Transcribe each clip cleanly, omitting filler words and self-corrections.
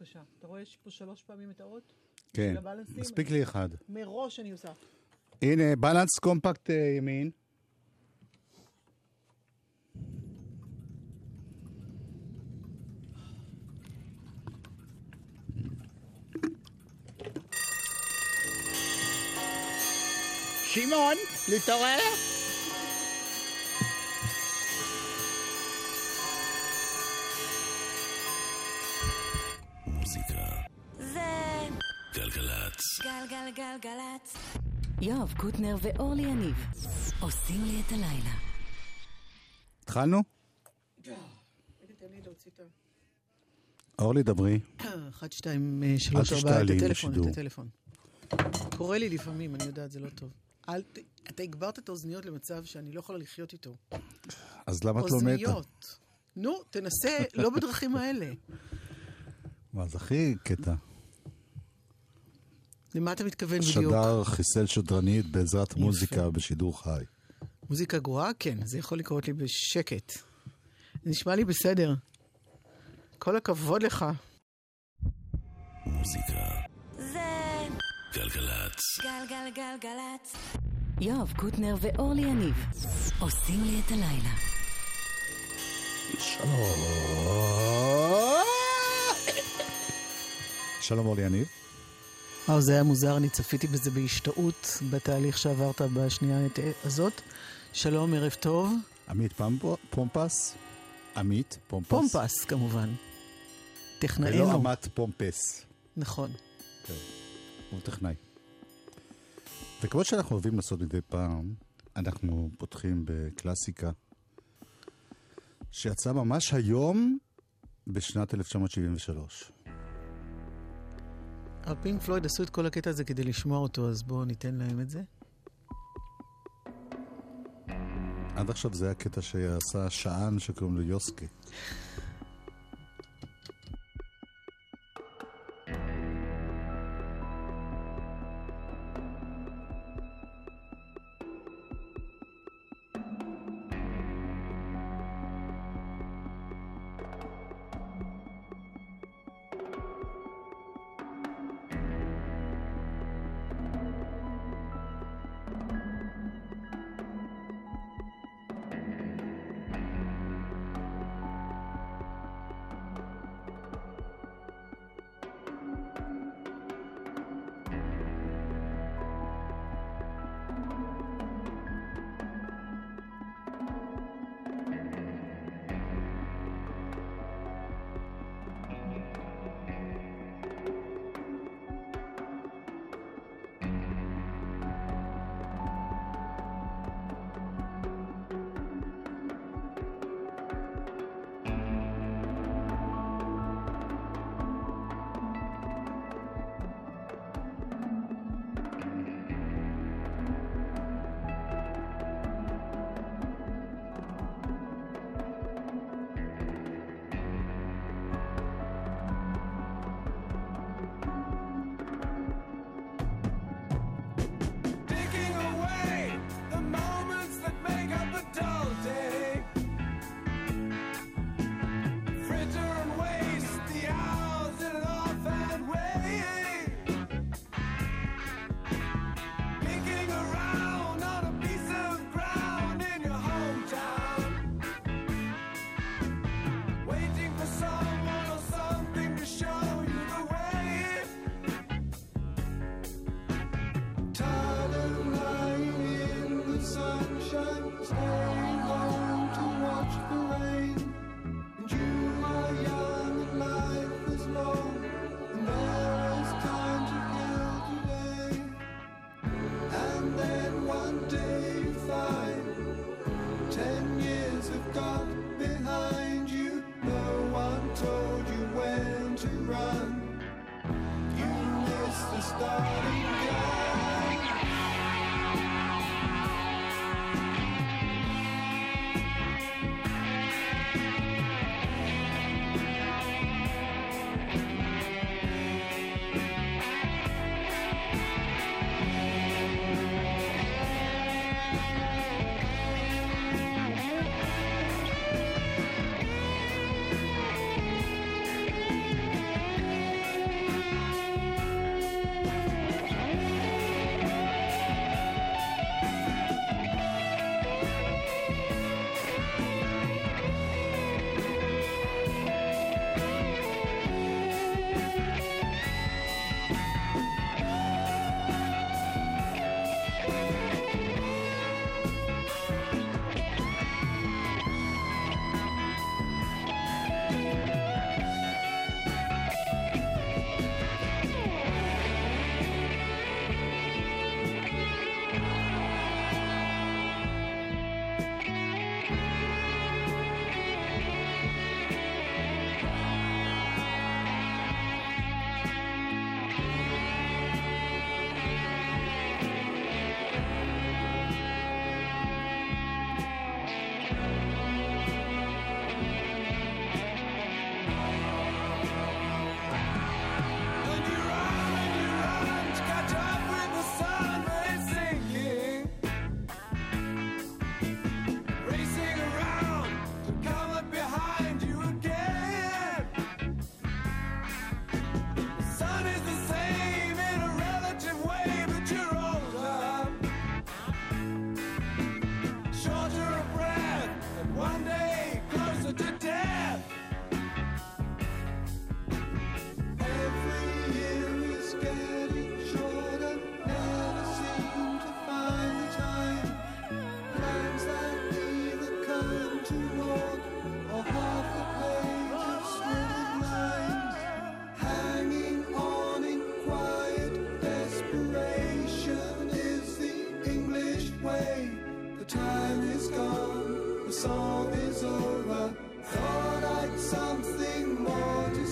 בבקשה. אתה רואה יש פה 3 פעמים את האות? כן, מספיק לי אחד. מראש אני עושה. הנה, בלנס קומפקט ימין. שמעון, להתעורר? מוזיקה זה גלגלצ. גלגלגלגלצ. יואב קוטנר ואורלי יניב עושים לי את הלילה. התחלנו? אורלי, דברי. 1, 2, 3, 4, את הטלפון. קורא לי לפעמים, אני יודעת, זה לא טוב. אתה הגברת את האוזניות למצב שאני לא יכולה לחיות איתו. אז למה את לא מתה? אוזניות. נו, תנסה, לא בדרכים האלה. מה, זה הכי קטע. למה אתה מתכוון בדיוק? שדר חיסל שדרנית בעזרת מוזיקה בשידור חי. מוזיקה גרועה? כן, זה יכול לקרות לי בשקט. זה נשמע לי בסדר. כל הכבוד לך. מוזיקה זה גלגלצ. גלגלגלגלצ. יואב קוטנר ואורלי יניב עושים לי את הלילה. שלום אורלי יניב. זה היה מוזר, אני צפיתי בזה בהשתאות בתהליך שעברת בשנייה הזאת. שלום, ערב טוב. עמית פומפס. עמית פומפס. פומפס כמובן. טכנאינו. ולא עמת פומפס. נכון. כן, הוא טכנאי. וכמו שאנחנו אוהבים לעשות מדי פעם, אנחנו פותחים בקלאסיקה שיצא ממש היום בשנת 1973. פינק פלויד עשו את כל הקטע הזה כדי לשמוע אותו, אז בואו ניתן להם את זה. עד עכשיו זה היה קטע שעשה שען שקוראים לו יוסקי.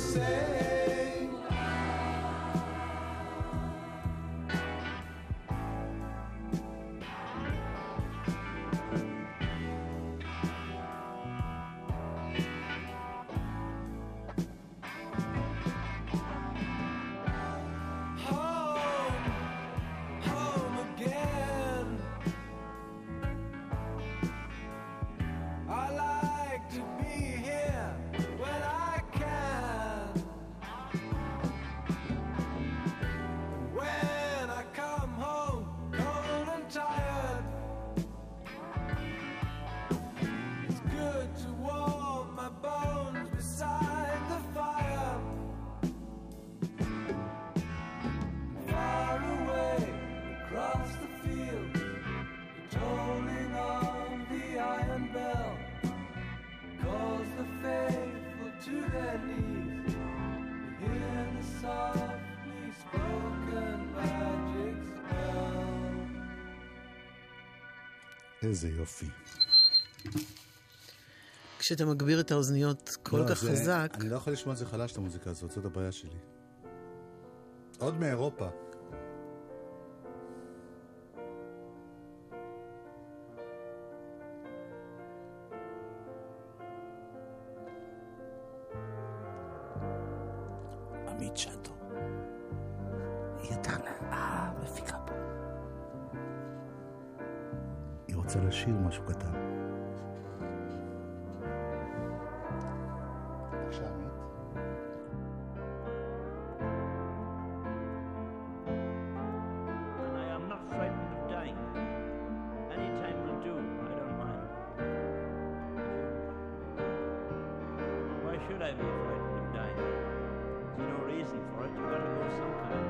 איזה יופי. כשאתה מגביר את האוזניות כל כך חזק... אני לא יכול לשמוע את זה חלש, את המוזיקה הזאת, זאת הבעיה שלי. עוד מאירופה. עמית שטו. היא תכנה, מפיקה פה. היא רוצה לשיר משהו קטן. בבקשה, עמית. And I am not frightened of dying. Any time will do, I don't mind. Why should I be frightened of dying? There's no reason for it, you've got to go sometime.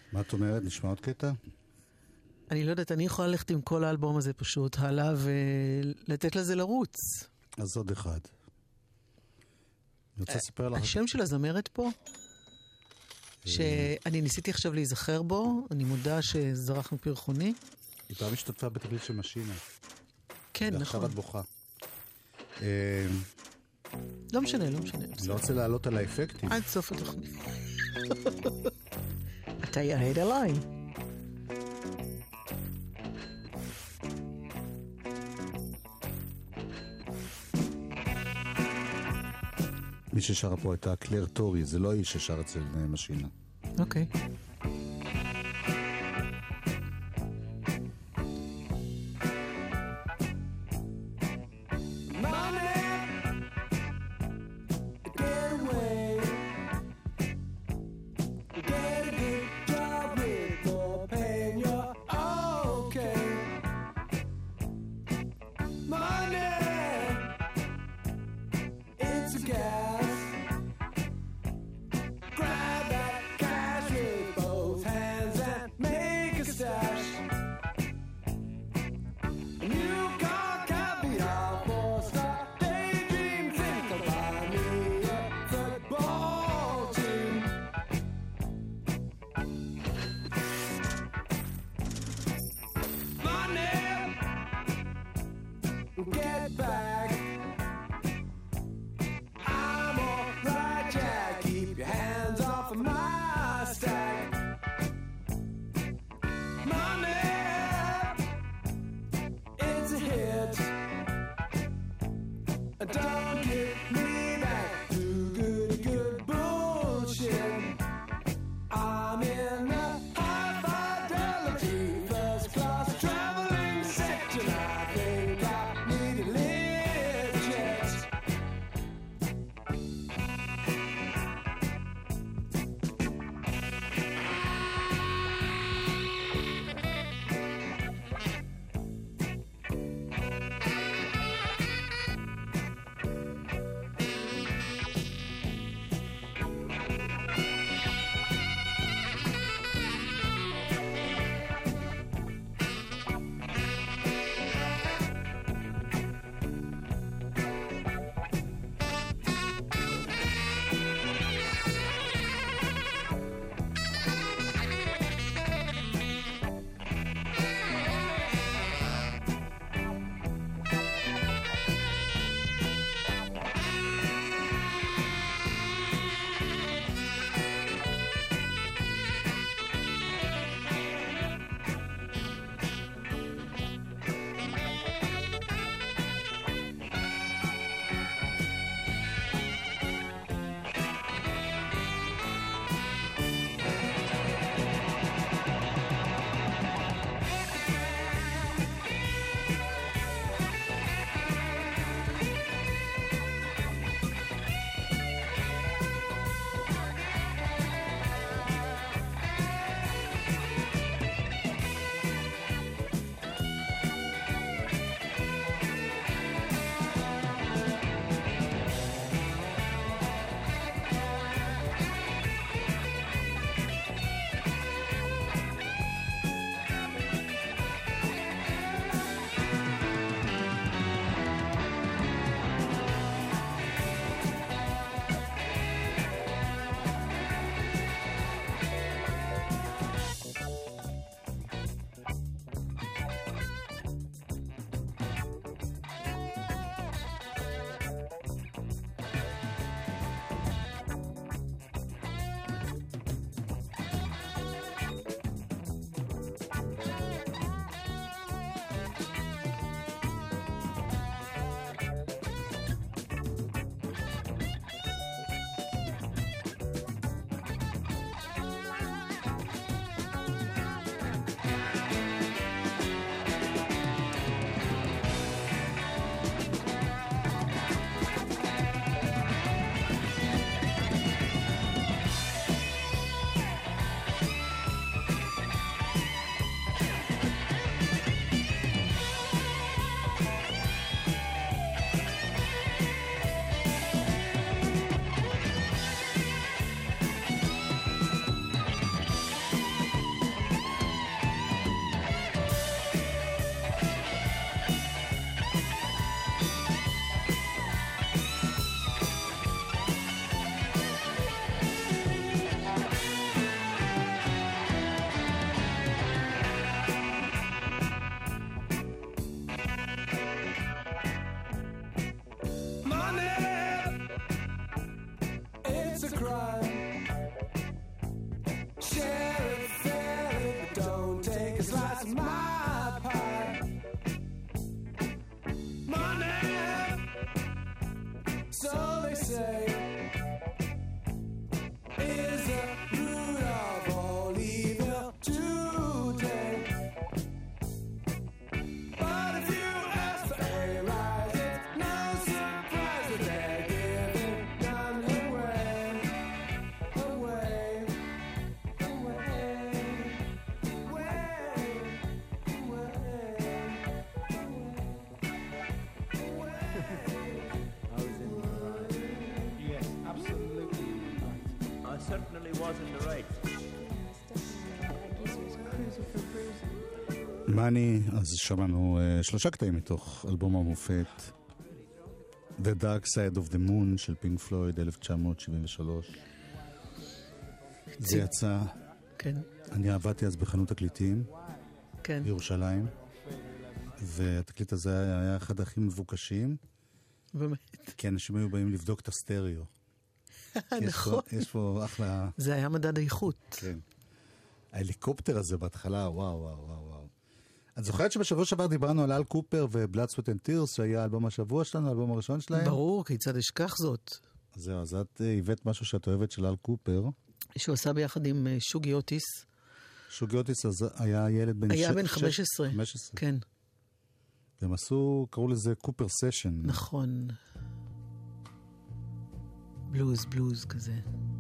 מה את אומרת? נשמע עוד קטע? אני לא יודעת, אני יכולה ללכת עם כל האלבום הזה פשוט הלאה ולתת לזה לרוץ. אז עוד אחד. אני רוצה לספר לך... השם של הזמרת פה, שאני ניסיתי עכשיו להיזכר בו, אני מודה שזרח מפרחוני. היא פעם השתתפה בתקליט של משינה. כן, נכון. ועכשיו את בוכה. לא משנה, לא משנה. אני לא רוצה לעלות על האפקטים. עד סוף התוכנית. אתה ירד עליי. מי ששרה פה הייתה קלר טורי, זה לא איש ששר אצל משינה. אוקיי. Grab that cash with say is the root of all evil today. But if you ask for a rise, it's no surprise that they're giving none away, away, away, away, Yes, absolutely right. I certainly was in the right. מאני, אז שמענו 3 קטעים מתוך אלבום המופת The Dark Side of the Moon של פינק פלויד 1973. זה יצא, כן, אני עבדתי אז בחנות תקליטים כן. בירושלים, והתקליט הזה היה אחד הכי מבוקשים, באמת. כי אנשים היו באים לבדוק את הסטריאו. נכון. יש פה אחלה... זה היה מדד האיכות. כן. ההליקופטר הזה בהתחלה, וואו, וואו, וואו, וואו. את זוכרת שבשבוע שעבר דיברנו על אל קופר ו-Blood, Sweat and Tears, שהיה האלבום השבוע שלנו, האלבום הראשון שלהם? ברור, כיצד אשכח זאת. זהו, אז את הבאת משהו שאת אוהבת של אל קופר. שהוא עשה ביחד עם שוגי אוטיס. שוגי אוטיס אז היה ילד בן... היה בן 15. 15. כן. והם עשו, קראו לזה קופר סשן. נכון. בלוז כזה.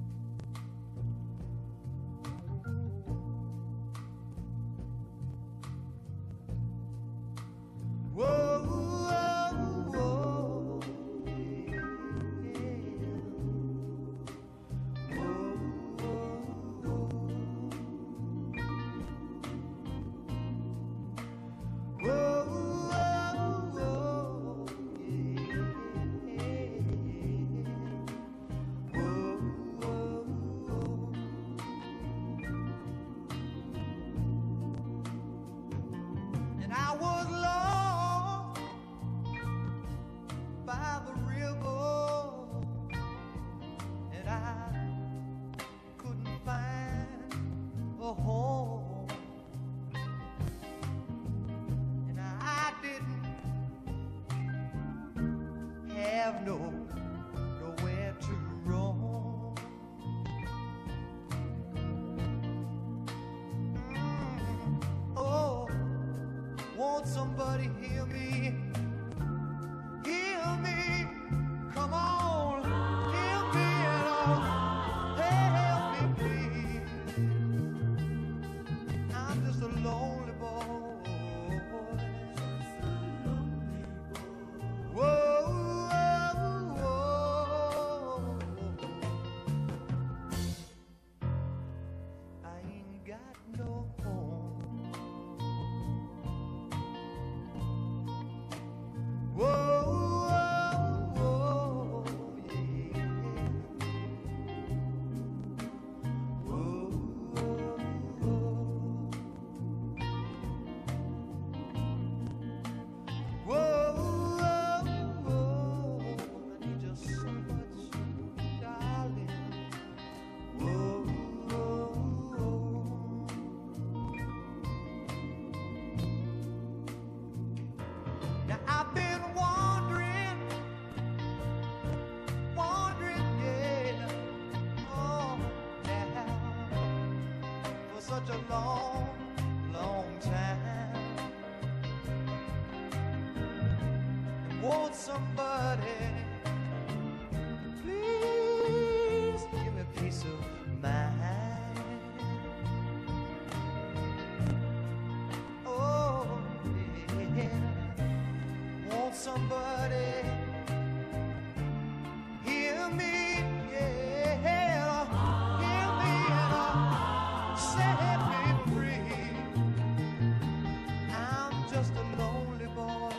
Somebody hear me, come on, hear me at all, help me please, I'm just a lonely boy, whoa, whoa, whoa. I ain't got no home. Somebody, please give me peace of mind. Oh, yeah. Want somebody, hear me, yeah, hear me and set me free. I'm just a lonely boy.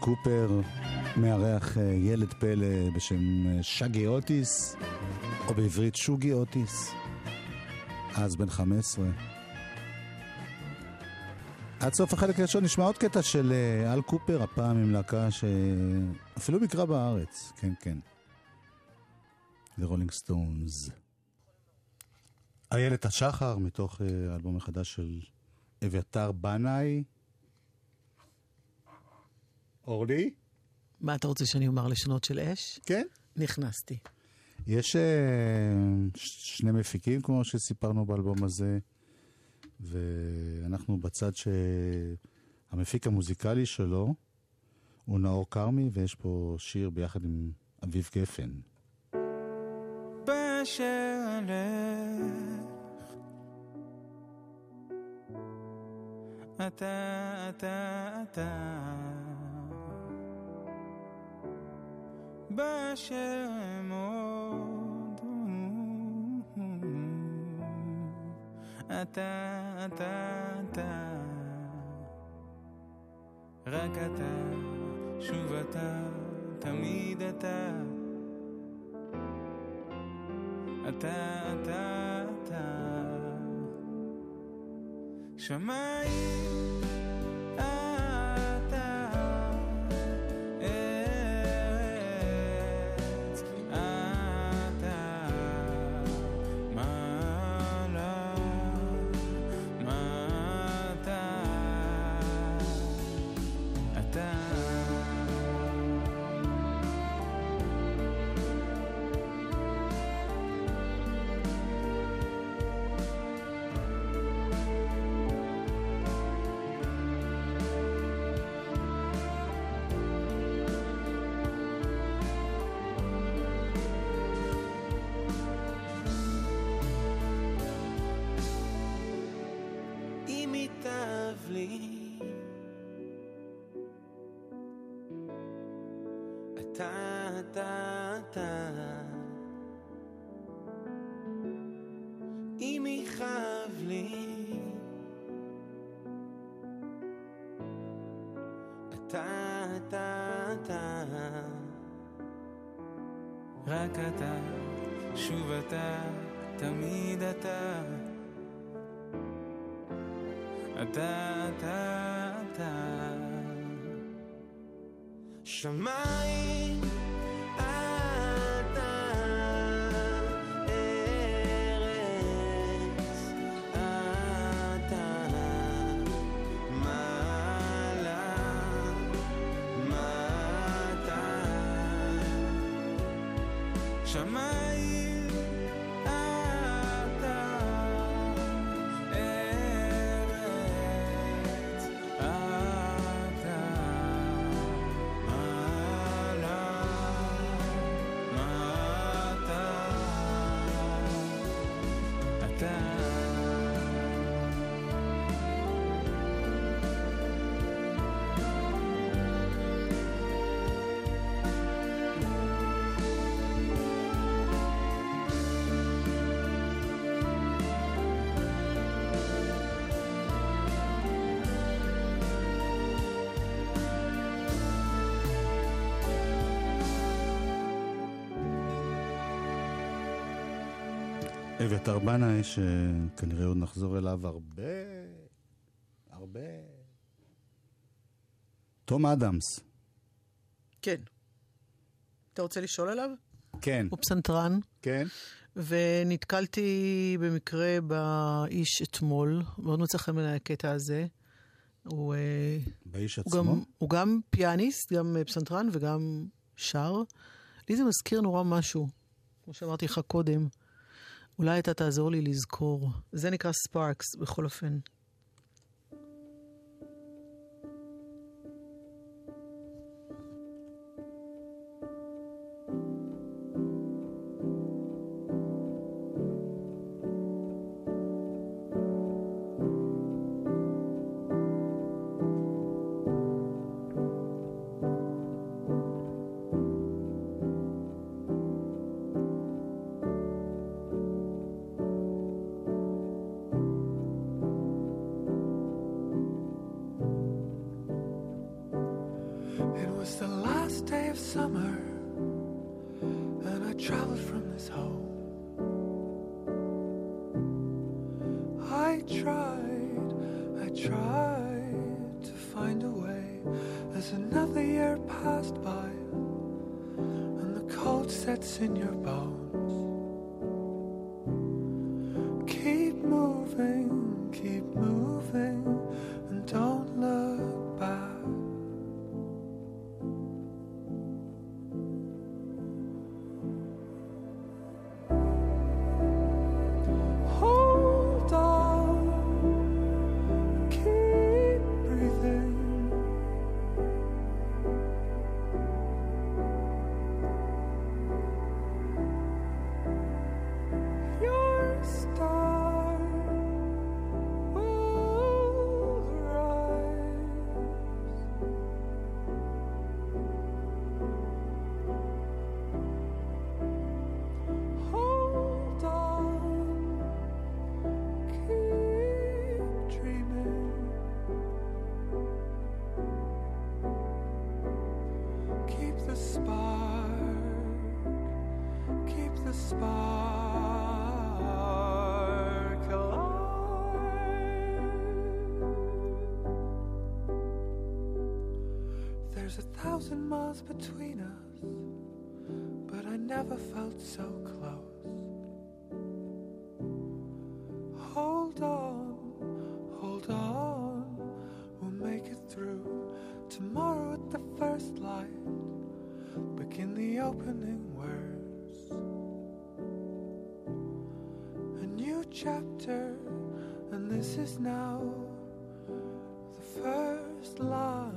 קופר מארח ילד פלא בשם שגי אוטיס, או בעברית שוגי אוטיס, אז בן 15. עד סוף החלק הראשון נשמע עוד קטע של אל קופר, הפעם עם להקה שאפילו מקרה בארץ, כן כן, The Rolling Stones. איילת השחר מתוך האלבום החדש של אביתר בנאי. אורלי? מה אתה רוצה שאני אומר, לשנות של אש? כן. נכנסתי. יש שני מפיקים כמו שסיפרנו באלבום הזה, ואנחנו בצד שהמפיק המוזיקלי שלו הוא נאור קרמי, ויש פה שיר ביחד עם אביב גפן. בשלך אתה בשמות אתה רק אתה, שוב אתה, תמיד אתה שמיים אתה ארץ אתה מעלה מטה אתה אם יכאב לי אתה רק אתה, שוב אתה, תמיד אתה שמיים שמיים אתה ארץ אתה מעלה מטה אתה אביתר בנאי, שכנראה עוד נחזור אליו הרבה. תום אדמס. כן. אתה רוצה לשאול עליו? כן. הוא פסנתרן. כן. ונתקלתי במקרה באיש אתמול, מאוד מצא חן בעיניי הקטע הזה. באיש עצמו? הוא גם פיאניסט, גם פסנתרן וגם שר. לי זה מזכיר נורא משהו, כמו שאמרתי לך קודם. אולי אתה תעזור לי לזכור. זה נקרא ספארקס, בכל אופן. It was the last day of summer, and I traveled from this home. I tried to find a way as another year passed by, and the cold sets in your bones. Keep moving, and don't look back. Hold on, keep breathing. Your star will rise. Hold on, keep dreaming. Keep the spark alive. There's 1,000 miles between us, but I never felt so close. Hold on, we'll make it through. Tomorrow at the first light, begin the opening words. A new chapter, and this is now the first line.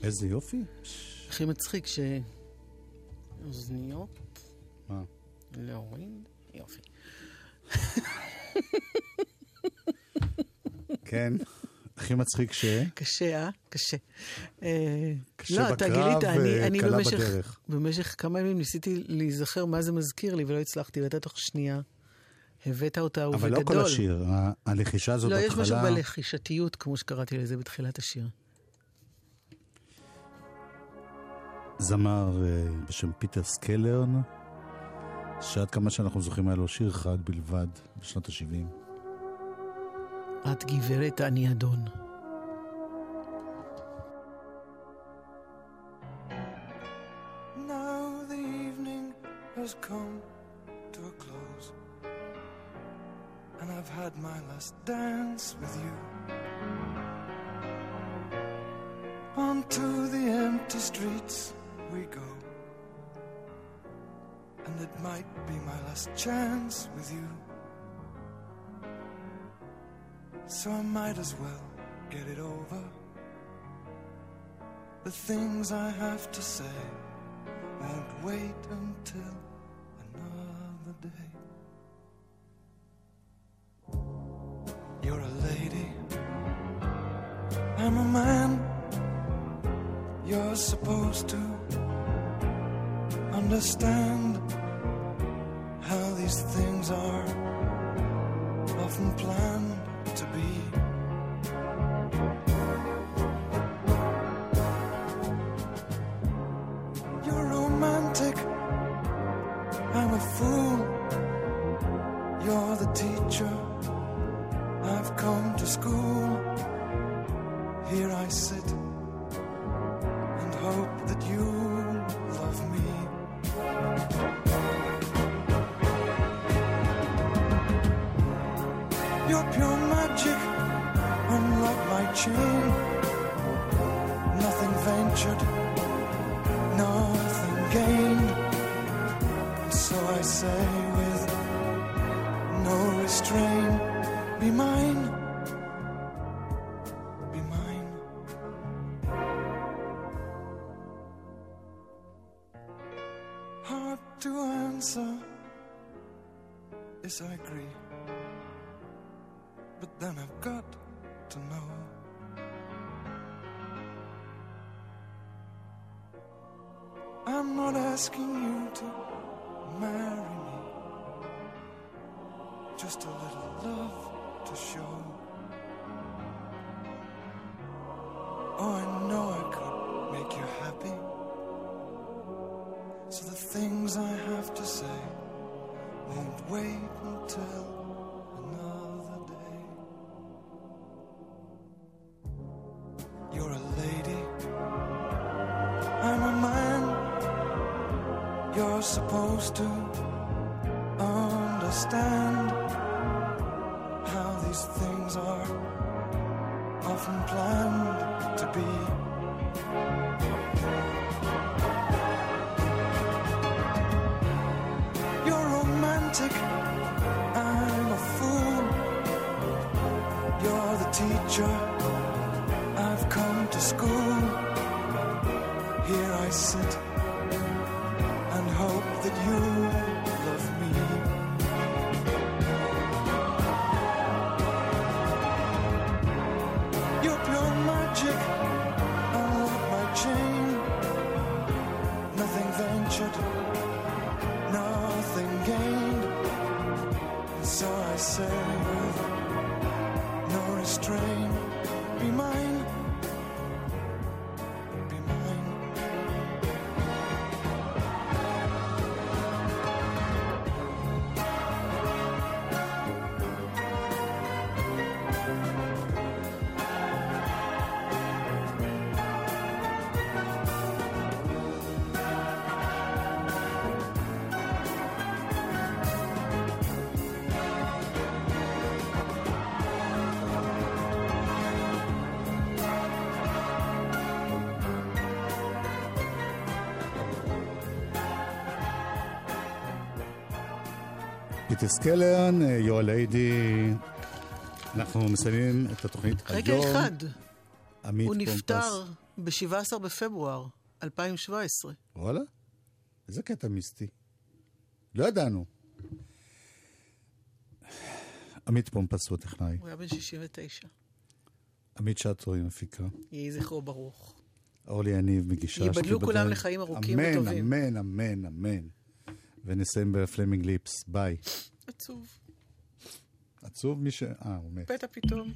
איזה יופי. הכי מצחיק אוזניות. מה? להוריד. יופי. כן. הכי מצחיק קשה, קשה. קשה לא, בקרב וקלה בדרך. במשך כמה ימים ניסיתי להיזכר מה זה מזכיר לי, ולא הצלחתי, ואתה תוך שנייה הבאת אותה ובגדול. אבל לא כל השיר, הלחישה הזאת בהתחלה... לא, יש משהו בלחישתיות, כמו שקראתי לזה בתחילת השיר. זמר בשם פיטר סקלרן, שעד כמה שאנחנו זוכרים היה לו שיר אחד בלבד בשנות ה-70. את גברת אני אדון. Now the evening has come to a close, and I've had my last dance with you. Onto the empty streets we go, and it might be my last chance with you. So I might as well get it over. The things I have to say won't wait until another day. You're a lady, I'm a man. You're supposed to understand how these things are often planned to be. You're romantic, I'm a fool. You're the teacher, I've come to school. Here I sit and hope that you love me. You're pure magic, unlike my chain. Nothing ventured, nothing gained. So I say with no restraint, be mine, be mine. Hard to answer, yes I agree. But then I've got to know. I'm not asking you to marry me, just a little love to show. Oh, I know I could make you happy. So the things I have to say won't wait until another day. You're a lady, I'm a man. You're supposed to understand how these things are often planned to be. You're romantic, I'm a fool. You're the teacher, I've come to school. Here I sit and hope that you love me. You're pure magic, unlike my chain. Nothing ventured, nothing gained. And so I say with no restraint, be mine, be mine. פיטר סקלרן, You're a Lady. אנחנו מסיימים את התוכנית רגע היום. אחד, עמית הוא פומפס. נפטר ב-17 בפברואר 2017. וואלה? איזה קטע מיסטי. לא ידענו. עמית פומפס הוא הטכנאי. הוא היה בן 69. עמית שטרו עם הפיקה. יהי זכרו ברוך. אורלי יניב מגישה. ייבדלו כולם לחיים ארוכים וטובים. אמן, אמן, אמן. ונסיים בפלמינג ליפס. ביי. עצוב. עצוב מי ש... הוא מת. פתע פתאום.